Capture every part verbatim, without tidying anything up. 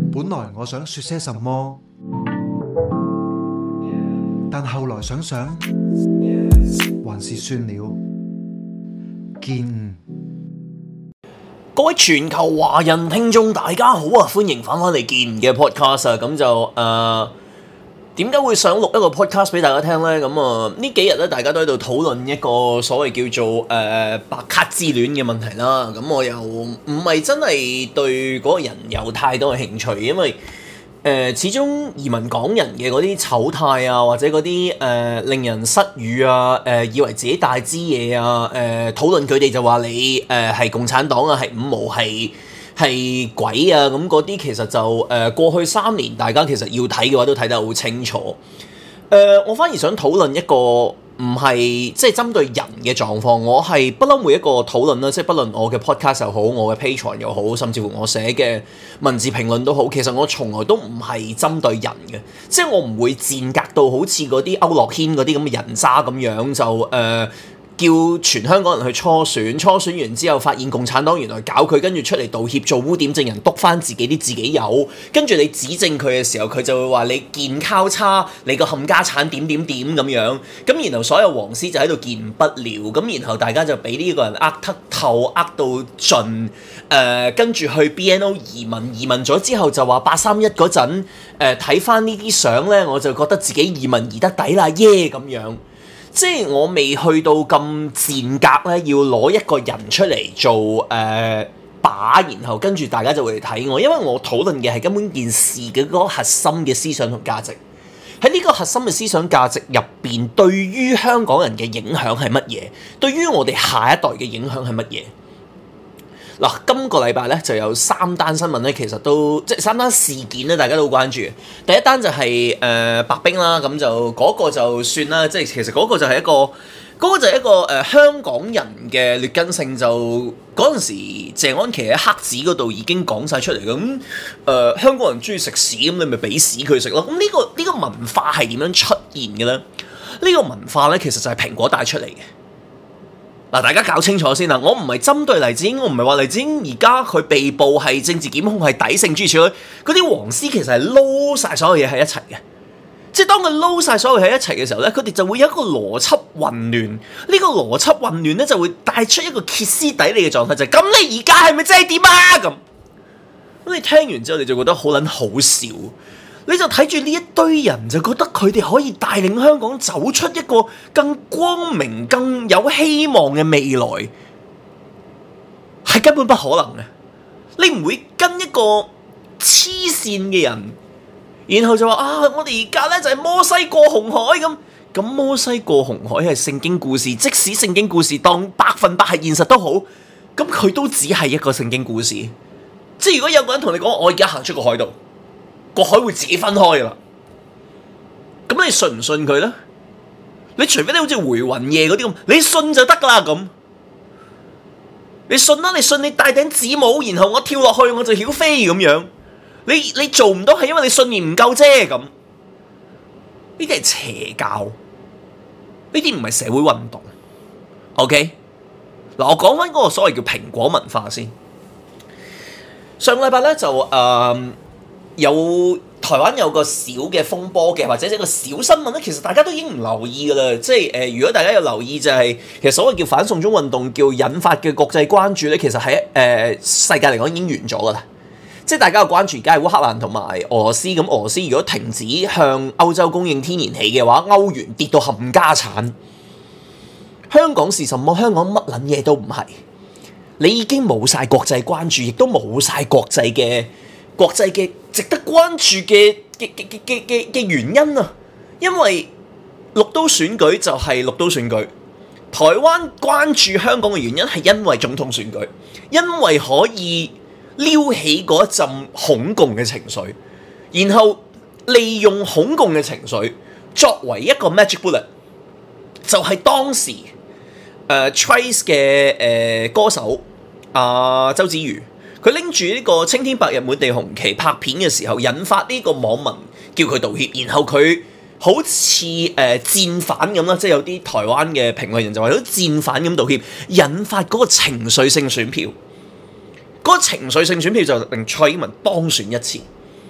本來我想說些什麼，但後來想想，還是算了。見各位全球華人聽眾大家好啊，歡迎翻返嚟見嘅 podcast 啊，咁就誒點解會想錄一個 podcast 俾大家聽呢？咁啊呢幾日咧，大家都喺度討論一個所謂叫做誒、呃、白卡之戀嘅問題啦。咁我又唔係真係對嗰個人有太多嘅興趣，因為誒、呃、始終移民港人嘅嗰啲醜態啊，或者嗰啲誒令人失語啊，誒、呃、以為自己大支嘢啊，誒、呃、討論佢哋就話你誒係、呃、共產黨啊，係五毛係。係鬼啊！咁嗰啲其實就誒、呃、過去三年，大家其實要睇嘅話都睇得好清楚。誒、呃，我反而想討論一個唔係即係針對人嘅狀況。我係不嬲每一個討論啦，即係不論我嘅 podcast 又好，我嘅 Patreon 又好，甚至乎我寫嘅文字評論都好，其實我從來都唔係針對人嘅，即係我唔會賤格到好似嗰啲區諾軒嗰啲咁嘅人渣咁樣就誒。呃叫全香港人去初選，初選完之後發現共產黨原來搞佢，跟住出嚟道歉做污點證人，篤翻自己啲自己有，跟住你指正佢嘅時候，佢就會話你健交叉，你個冚家產點點點咁樣，咁然後所有黃絲就喺度見不了，咁然後大家就俾呢個人呃得透，呃到盡，誒、呃、跟住去 B N O 移民，移民咗之後就話八三一嗰陣，誒睇翻呢啲相咧，我就覺得自己移民移得抵啦，耶咁樣。即係我未去到咁賤格咧，要攞一個人出嚟做誒、呃、靶，然後跟住大家就會嚟睇我，因為我討論嘅係根本件事嘅嗰個核心嘅思想同價值。喺呢個核心嘅思想價值入邊，對於香港人嘅影響係乜嘢？對於我哋下一代嘅影響係乜嘢？嗱，今個禮拜咧就有三單新聞咧，其實都即係三單事件咧，大家都好關注。第一單就係、是、誒、呃、白冰啦，咁就嗰、那個就算啦，即係其實嗰個就係一個嗰、那個就係一個誒、呃、香港人嘅劣根性，就嗰陣時謝安琪喺黑紙嗰度已經講晒出嚟嘅。咁誒、呃、香港人中意食屎，咁你咪俾屎佢食咯。咁呢、這個呢、這個文化係點樣出現嘅咧？呢、這個文化咧其實就係蘋果帶出嚟嘅。嗱，大家搞清楚先啦！我唔係針對黎智英，我唔係話黎智英而家佢被捕係政治檢控係抵勝諸如此類，嗰啲黃絲其實係撈晒所有嘢喺一齊嘅。即係當佢撈晒所有嘢喺一齊嘅時候咧，佢哋就會有一個邏輯混亂。呢、這個邏輯混亂咧就會帶出一個歇斯底里嘅狀態，就係、是、咁你而家係咪真係點啊？咁咁你聽完之後你就覺得好撚好笑。你就睇住呢一堆人，就覺得佢哋可以帶領香港走出一個更光明、更有希望嘅未來，係根本不可能嘅。你唔會跟一個黐線嘅人，然後就話啊，我哋而家咧就係摩西過紅海咁。咁摩西過紅海係聖經故事，即使聖經故事當百分百係現實都好，咁佢都只係一個聖經故事。即係如果有個人同你講，我而家行出個海度，個海會自己分開噶啦，咁你信唔信佢咧？你除非你好似回魂夜嗰啲咁，你信就得噶啦咁。你信啦，你信你戴頂紫帽，然後我跳落去我就曉飛咁樣。你你做唔到係因為你信念唔夠啫咁。呢啲係邪教，呢啲唔係社會運動。OK，嗱我講翻嗰個所謂叫蘋果文化先。上個禮拜咧就誒。呃有台灣有個小嘅風波嘅，或者一個小新聞咧，其實大家都已經唔留意噶啦。即係誒、呃，如果大家有留意就係、是，其實所謂叫反送中運動叫引發嘅國際關注咧，其實喺誒、呃、世界嚟講已經完咗噶啦。即係大家嘅關注而家係烏克蘭同埋俄羅斯，咁俄羅斯如果停止向歐洲供應天然氣嘅話，歐元跌到冚家產。香港是什麼？香港乜撚嘢都唔係。你已經冇晒國際關注，亦都冇晒國際嘅。國際嘅值得關注嘅嘅嘅嘅嘅嘅原因啊，因為六都選舉就係六都選舉，台灣關注香港嘅原因係因為總統選舉，因為可以撩起嗰一陣恐共嘅情緒，然後利用恐共嘅情緒作為一個 magic bullet，就係當時誒、呃、Trace 嘅誒、呃、歌手啊、呃、周子瑜。佢拎住呢個青天白日滿地紅旗拍片嘅時候，引發呢個網民叫佢道歉，然後佢好似誒、呃、戰犯咁啦，即係有啲台灣嘅評論人就話好似戰犯咁道歉，引發嗰個情緒性選票，嗰、嗰個情緒性選票就令蔡英文當選一次。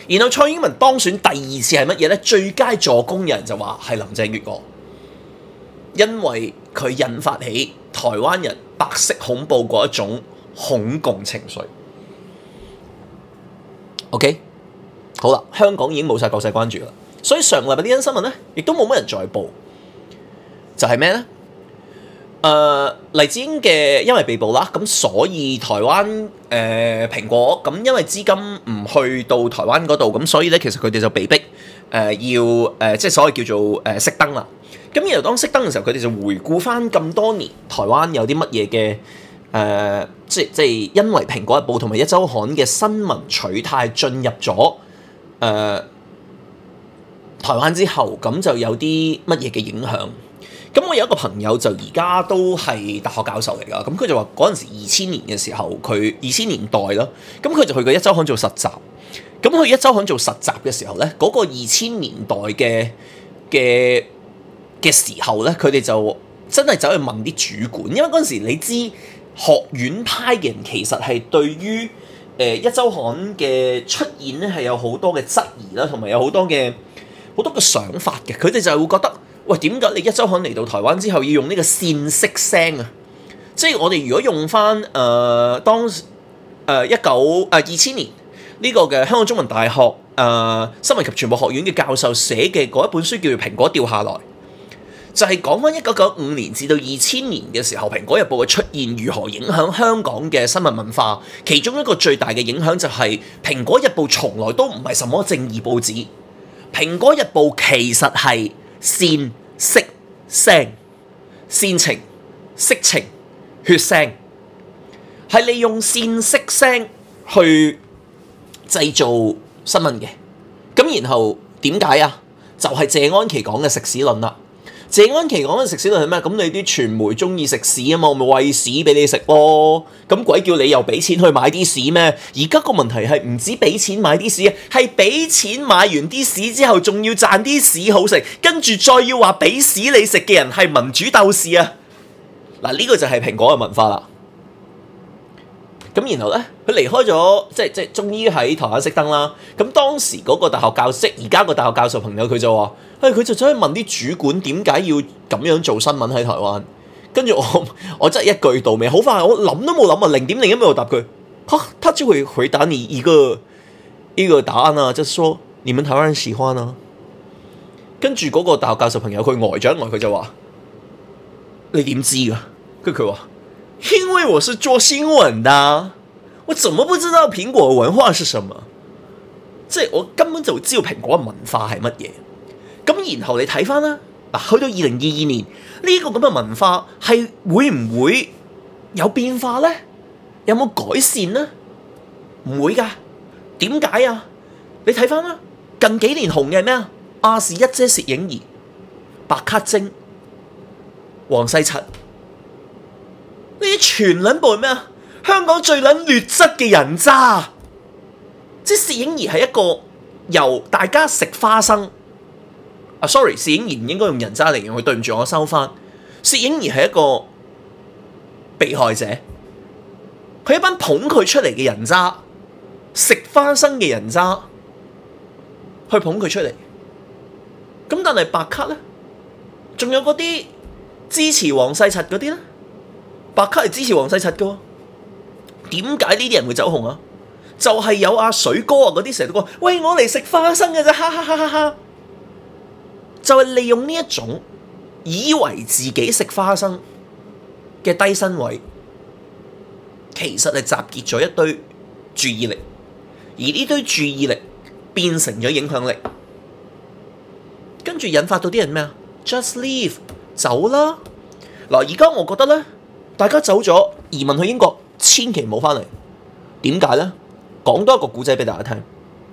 然後蔡英文當選第二次係乜嘢咧？最佳助攻人就話係林鄭月娥，因為佢引發起台灣人白色恐怖嗰一種恐共情緒。OK， 好啦，香港已經冇晒國際關注啦，所以上個禮拜呢單新聞咧，亦都冇乜人再報，就係咩咧？誒、呃、黎智英嘅因為被捕啦，咁所以台灣誒、呃、蘋果咁因為資金唔去到台灣嗰度，咁所以咧其實佢哋就被逼誒、呃、要誒、呃、即係所謂叫做誒熄燈啦。咁然後當熄燈嘅時候，佢哋就回顧翻咁多年台灣有啲乜嘢嘅誒，即係即係因為蘋果日報同埋一週刊嘅新聞取態進入咗誒、呃、台灣之後，咁就有啲乜嘢嘅影響。咁我有一個朋友就而家都係大學教授嚟㗎，咁佢就話嗰陣時二千年嘅時候，佢二千年代啦，咁佢就去過一週刊做實習。咁去一週刊做實習嘅時候咧，嗰、那個二千年代嘅嘅嘅時候咧，佢哋就真係走去問啲主管，因為嗰陣時你知學院派嘅人其實係對於誒、呃、一週刊嘅出現咧係有好多嘅質疑啦，同埋有好多嘅好多嘅想法嘅，佢哋就係會覺得。喂，點解你一週刊嚟到台灣之後要用呢個線式聲啊？即係我哋如果用翻誒、呃、當誒一九誒二千年呢個嘅香港中文大學誒、呃、新聞及傳播學院嘅教授寫嘅嗰一本書叫做《蘋果掉下來》，就係講翻一九九五年至到二千年嘅時候，《蘋果日報》嘅出現如何影響香港嘅新聞文化。其中一個最大嘅影響就係、是《蘋果日報》從來都唔係什麼正義報紙，《蘋果日報》其實係線色聲、煽情、色情、血腥，係利用線色聲去製造新聞嘅。咁然後點解啊？就係、是、謝安琪講嘅食屎論啦。謝安琪講嘅食屎論係咩？咁你啲傳媒中意食屎啊嘛，我咪餵屎俾你食咯。咁鬼叫你又俾錢去買啲屎咩？而家個問題係唔止俾錢買啲屎，係俾錢買完啲屎之後，仲要賺啲屎好食，跟住再要話俾屎你食嘅人係民主鬥士啊！嗱，呢個就係蘋果嘅文化啦。咁然後咧，佢離開咗，即係即係終於喺台灣熄燈啦。咁當時嗰個大學教授，而家個大學教授朋友佢就話。誒佢就走去問啲主管點解要咁樣做新聞喺台灣，跟住我我真係一句到尾，好快我諗都冇諗啊，零點零一秒答佢，嚇，他就會回答你一個一個答案啊，就是說你們台灣人喜歡啊。跟住嗰個大學教授朋友佢呆咗一呆，佢就話：你點知㗎？跟住佢話：因為我是做新聞的，我怎麼不知道蘋果文化是什麼？即係我根本就知道蘋果嘅文化係乜嘢。咁然後你睇翻啦，嗱，去到二零二二年呢個咁嘅文化係會唔會有變化咧？有冇改善咧？唔會噶，點解啊？你睇翻啦，近幾年紅嘅係咩啊？亞視一姐薛影儀、白卡精、黃世澤，呢啲全撚部係咩啊？香港最撚劣質嘅人渣，即係薛影儀係一個由大家食花生。啊 ，sorry， 薛影儀唔應該用人渣嚟形容佢，對唔住，我收翻。薛影儀係一個被害者，佢一班捧佢出嚟嘅人渣，食花生嘅人渣，去捧佢出嚟。咁但係白卡咧，仲有嗰啲支持黃世澤嗰啲咧，白卡係支持黃世澤嘅喎。點解呢啲人會走紅啊？就係、是、有阿水哥啊嗰啲成日都講，喂，我嚟食花生嘅啫，哈哈哈哈哈！就係利用呢一種以為自己食花生嘅低身位，其實係集結咗一堆注意力，而呢堆注意力變成咗影響力，跟住引發到啲人咩啊 ？Just leave， 走啦！嗱，而家我覺得咧，大家走咗移民去英國，千祈唔好翻嚟。點解咧？講多一個故仔俾大家聽。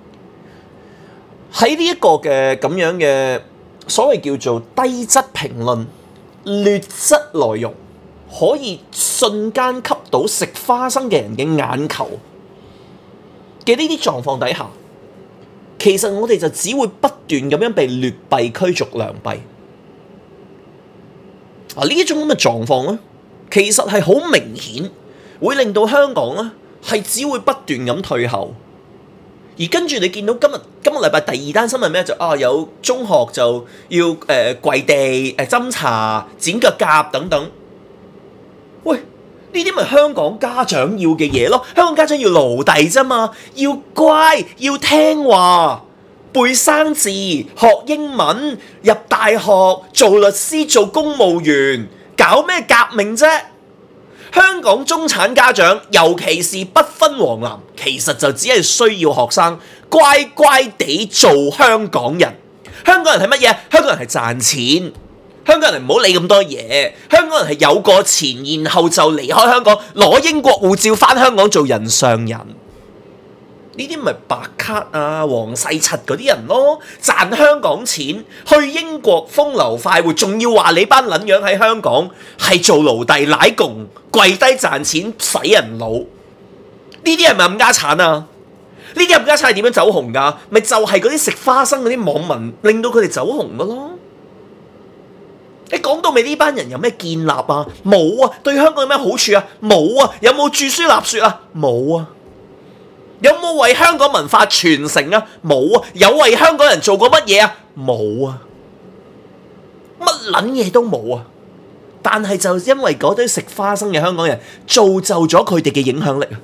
喺呢一個嘅咁樣嘅。所謂叫做低質評論、劣質內容，可以瞬間吸到食花生嘅人嘅眼球嘅呢啲狀況底下，其實我哋就只會不斷咁樣被劣幣驅逐良幣。啊，呢一種咁嘅狀況咧，其實係好明顯會令到香港咧係只會不斷咁退後， 而跟住你見到今日今個禮拜第二單新聞咩？就啊有中學就要誒、呃、跪地誒斟茶剪腳甲等等。喂，呢啲咪香港家長要嘅嘢咯？香港家長要奴隸啫嘛，要乖要聽話，背生字學英文入大學做律師做公務員，搞咩革命啫？香港中產家長，尤其是不分黃藍，其實就只係需要學生乖乖地做香港人。香港人係乜嘢？香港人係賺錢。香港人唔好理咁多嘢。香港人係有個錢，然後就離開香港，攞英國護照返香港做人上人。呢啲咪白卡啊、黃世柒嗰啲人咯，賺香港錢，去英國風流快活，仲要話你班撚樣喺香港係做奴隸奶共，跪低賺錢洗人腦。呢啲係咪冚家產啊？呢啲冚家產係點樣走紅㗎？咪就係嗰啲食花生嗰啲網民令到佢哋走紅㗎咯。你講到尾呢班人有咩建立啊？冇啊！對香港有咩好處啊？冇啊！有冇著書立說啊？冇啊！有冇為香港文化傳承啊？冇啊！有為香港人做過乜嘢啊？冇啊！乜撚嘢都冇啊！但係就因為嗰堆食花生嘅香港人造就咗佢哋嘅影響力啊！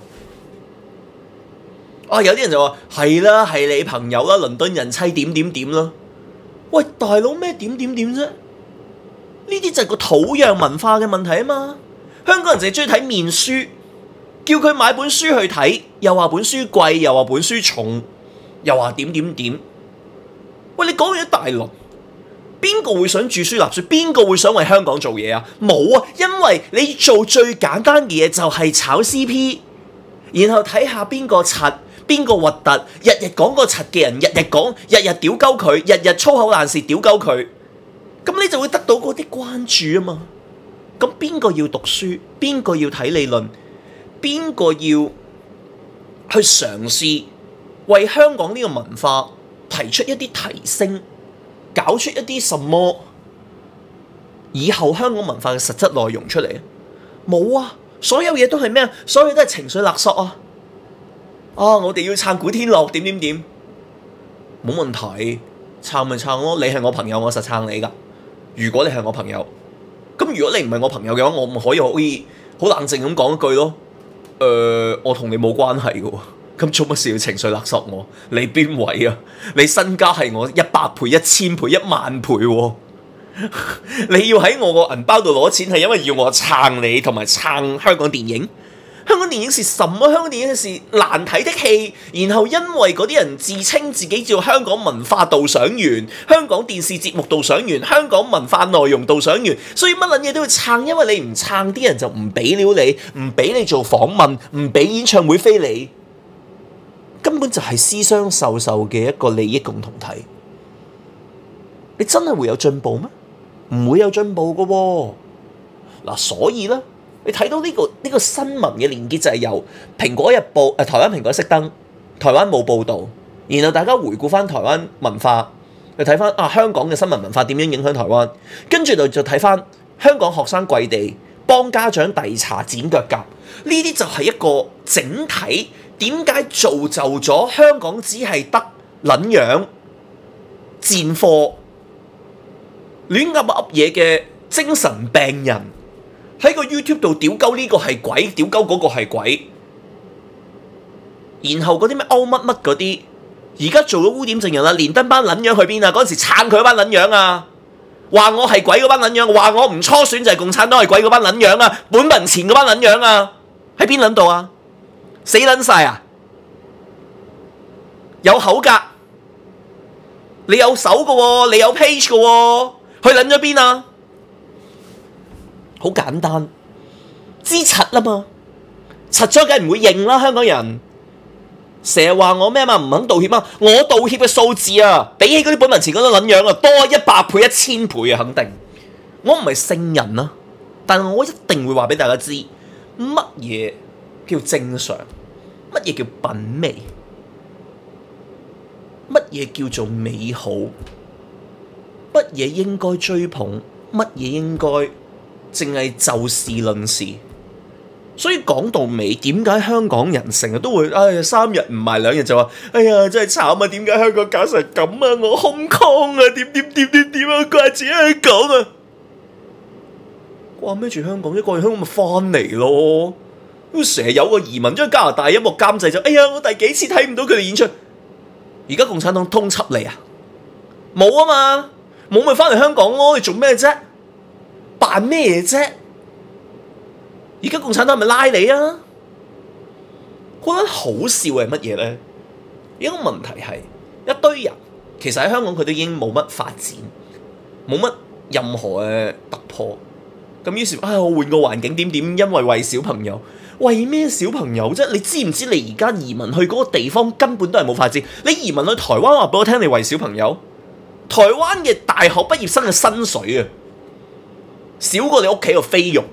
啊，有啲人就話係啦，係你朋友啦，倫敦人妻點點點啦。喂，大佬咩點點點啫？呢啲就係個土壤文化嘅問題啊嘛！香港人淨係中意睇面書。叫佢買本書去睇，又話本書貴，又話本書重，又話點點點。喂，你講完一大輪，邊個會想著書立說？邊個會想為香港做嘢啊？冇啊！因為你做最簡單嘅嘢就係炒 C P， 然後睇下邊個柒，邊個核突，日日講個柒嘅人，日日講，日日屌鳩佢，日日粗口爛舌屌鳩佢，咁你就會得到嗰啲關注啊嘛。咁邊個要讀書？邊個要睇理論？邊個要去嘗試為香港呢個文化提出一啲提升，搞出一啲什麼以後香港文化嘅實質內容出嚟啊？冇啊！所有嘢都係咩啊？所有嘢都係情緒勒索啊！啊！我哋要撐古天樂點點點，冇問題，撐咪撐咯！你係我朋友，我實撐你㗎。如果你係我朋友，咁如果你唔係我朋友嘅話，我咪可以可以好冷靜咁講一句咯。誒、呃，我同你冇關係嘅喎，咁做乜事要情緒勒索我？你邊位啊？你身家係我一百倍、一千倍、一萬倍喎、啊！你要喺我個銀包度攞錢，係因為要我撐你同埋撐香港電影。香港電影是什麼？香港電影是難睇的戲，然後因為嗰啲人自稱自己叫香港文化導賞員、香港電視節目導賞員、香港文化內容導賞員，所以乜撚嘢都要撐，因為你唔撐，啲人就唔俾料你，唔俾你做訪問，唔俾演唱會飛你，根本就係私相授受嘅一個利益共同體。你真係會有進步咩？唔會有進步嘅喎。嗱，所以咧。你睇到呢、這個呢、這個新聞嘅連結就係由蘋果日報誒、呃、台灣蘋果熄燈，台灣冇報導，然後大家回顧翻台灣文化，去睇翻啊香港嘅新聞文化點樣影響台灣，跟住就就睇翻香港學生跪地幫家長遞茶剪腳甲，呢啲就係一個整體。點解造就咗香港只係得撚樣賤貨亂噏噏嘢嘅精神病人？喺個 YouTube 度屌鳩呢個係鬼，屌鳩嗰個係鬼，然後嗰啲咩歐乜乜嗰啲，而家做咗污點證人啦，連登班撚樣去邊啊？嗰陣時撐佢嗰班撚樣啊，話我係鬼嗰班撚樣，話我唔初選就係共產黨係鬼嗰班撚樣啊，本民前嗰班撚樣啊，喺邊撚度啊？死撚晒啊！有口格，你有手嘅喎，你有 page 嘅喎，去撚咗邊啊？好簡單，知柒啦嘛，柒咗梗係唔會認啦。香港人成日話我咩嘛，唔肯道歉啊！我道歉嘅數字啊，比起嗰啲本民前嗰啲撚樣啊，多一百倍、一千倍啊，肯定。我唔係聖人啊，但係我一定會話俾大家知，乜嘢叫正常，乜嘢叫品味，乜嘢叫做美好，乜嘢應該追捧，乜嘢應該淨係就事論事， 所以講到尾，點解香港人成日都會唉三日唔埋兩日就話哎呀真係慘啊！點解香港搞成咁啊？我空空啊！點點點點點啊！掛住香港啊！掛咩住香港？一掛住香港咪翻嚟咯！成日有個移民將加拿大音樂監製就哎呀我第幾次睇唔到佢哋演出，而家共產黨通緝你啊？冇啊嘛，冇咪翻嚟香港咯！你做咩啫？扮咩啫？而家共產黨咪拉你啊！覺得好笑係乜嘢咧？一個問題係一堆人其實喺香港佢都已經冇乜發展，冇乜任何嘅突破。咁於是啊，我換個環境點點，因為為小朋友，為咩小朋友啫？你知唔知你而家移民去嗰個地方根本都係冇發展？你移民去台灣話俾我聽，你為小朋友？台灣嘅大學畢業生嘅薪水啊，少過你屋企個菲傭。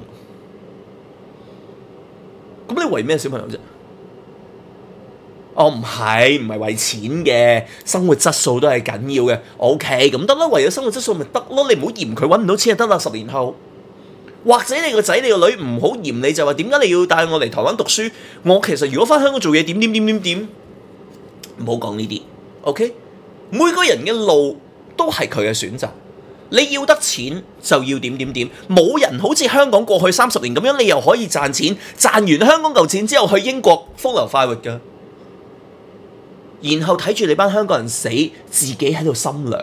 咁你為咩小朋友啫？哦，唔係，唔係為錢嘅，生活質素都係緊要嘅。O K，咁得啦，為咗生活質素咪得咯，你唔好嫌佢揾唔到錢就得啦。十年後，或者你個仔你個女唔好嫌你就話點解你要帶我嚟台灣讀書？我其實如果翻香港做嘢點點點點點，唔好講呢啲。O K，每個人嘅路都係佢嘅選擇。你要得錢就要點點點，冇人好似香港過去三十年咁樣，你又可以賺錢，賺完香港嚿錢之後去英國風流快活㗎，然後睇住你班香港人死，自己喺度心涼。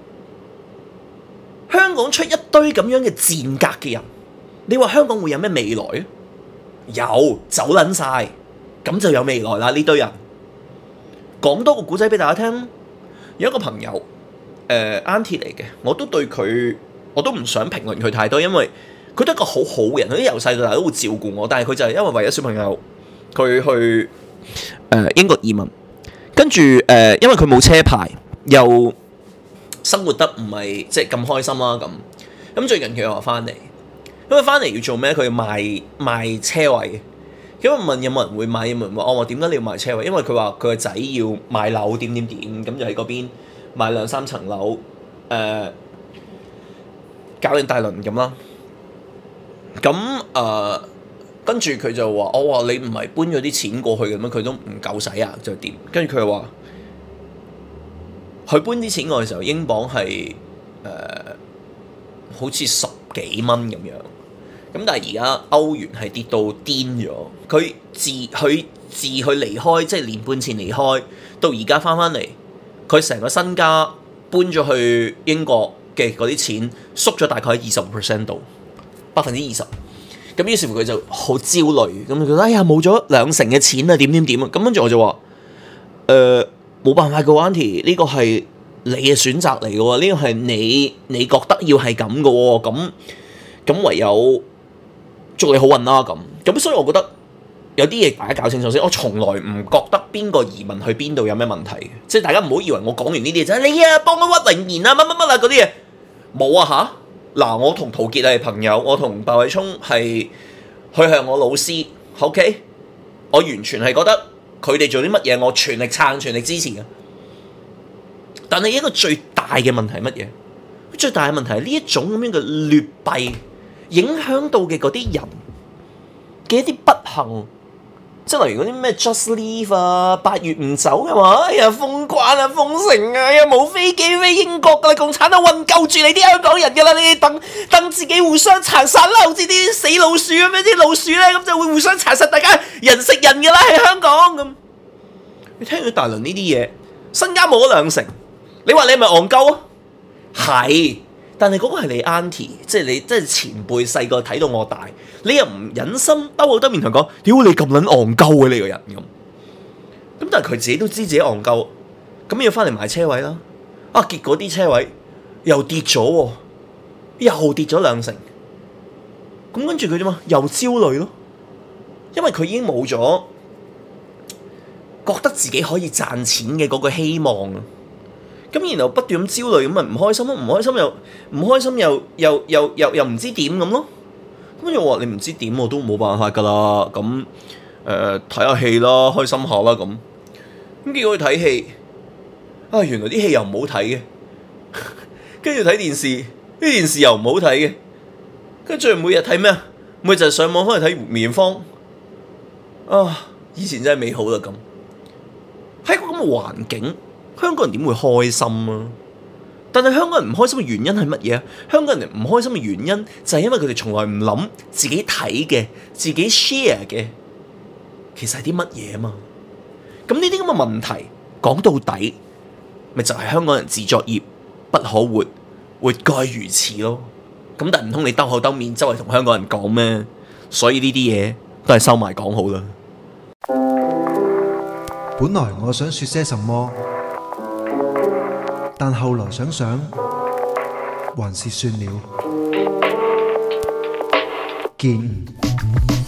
香港出一堆咁樣嘅賤格嘅人，你話香港會有咩未來啊？有，走撚晒，咁就有未來啦。呢堆人講多個古仔俾大家聽，有一個朋友。誒 Auntie 嚟嘅，我都對佢，我都唔想評論佢太多，因為佢都係一個好好嘅人，佢由細到大都會照顧我。但係佢就係因為為咗小朋友，佢去誒、呃、英國移民，跟住誒、呃，因為佢冇車牌，又生活得唔係即係咁開心啦。咁咁最近佢又話翻嚟，咁佢翻嚟要做咩？佢要賣賣車位。咁我問有冇人會買？有冇人話我話點解你要賣車位？因為佢話佢個仔要買樓點點點，咁就喺嗰邊。買兩三層樓，誒、呃，搞定大輪咁啦。咁誒、呃，跟住佢就話：我話你唔係搬咗啲錢過去嘅咩？佢都唔夠使啊，就點？跟住佢又話：佢搬啲錢過去嘅時候，英鎊係誒、呃、好似十幾蚊咁樣。咁但係而家歐元係跌到癲咗。佢自佢自佢離開，即係年半前離開，到而家翻返嚟。佢成個身家搬咗去英國嘅嗰啲錢縮咗大概喺二十 percent 度，百分之二十。咁於是乎佢就好焦慮，咁佢覺得哎呀冇咗兩成嘅錢啊，點點點啊！咁跟住我就話：誒、呃、冇辦法嘅 Auntie，呢個係你嘅選擇嚟嘅喎，呢個係你你覺得要係咁嘅喎，咁咁唯有祝你好運啦咁。咁所以我覺得。有啲嘢大家搞清楚先，我從來唔覺得邊個移民去邊度有咩問題嘅，即係大家唔好以為我講完呢啲嘢就係你啊幫我屈穎妍啊乜乜乜啊嗰啲嘢，冇啊吓，嗱我同陶傑係朋友，我同白偉聰係佢係我老師 ，OK， 我完全係覺得佢哋做啲乜嘢我全力撐全力支持嘅。但係一個最大嘅問題係乜嘢？最大嘅問題係呢一種咁樣嘅劣幣影響到嘅嗰啲人嘅一啲不幸。即係例如嗰啲咩 Just Leave 啊，八月唔走嘅話，哎呀封關啊封城啊，又冇飛機飛英國噶啦，共產黨運救住你啲香港人噶啦，你哋等等自己互相殘殺啦，好似啲死老鼠咁樣，啲老鼠咧咁就會互相殘殺，大家人食人噶啦喺香港咁。你聽佢大輪呢啲嘢，身家冇咗兩成，你話你係咪戇鳩啊？係。但係嗰個係你 Auntie， 即係你即係前輩細個睇到我大，你又唔忍心兜好多面同佢講，屌你咁撚戇鳩嘅呢個人咁。咁但係佢自己都知自己戇鳩，咁要翻嚟買車位啦。啊，結果啲車位又跌咗喎，又跌咗兩成。咁跟住佢啫嘛，又焦慮咯，因為佢已經冇咗覺得自己可以賺錢嘅嗰個希望啊。咁然後不斷咁焦慮，咁咪唔開心咯，唔開心又唔開心又又又又又唔知點咁咯。咁跟住我話你唔知點我都冇辦法噶啦。咁誒睇下戲啦，開心下啦咁。咁結果去睇戲，啊原來啲戲又唔好睇嘅。跟住睇電視，啲電視又唔好睇嘅。跟住每日睇咩啊？每日就係上網翻嚟睇梅艷芳。 啊，以前真係美好啦咁。喺個咁嘅環境，香港人點會開心啊？但係香港人唔開心嘅原因係乜嘢啊？香港人唔開心嘅原因就係因為佢哋從來唔諗自己睇嘅、自己 share 嘅，其實係啲乜嘢啊嘛？咁呢啲咁嘅問題講到底，咪就係、是、香港人自作孽不可活，活該如此咯。咁但係唔通你兜口兜面周圍同香港人講咩？所以呢啲嘢都係收埋講好啦。 本來我想說些什麼，但後來想想，還是算了。見。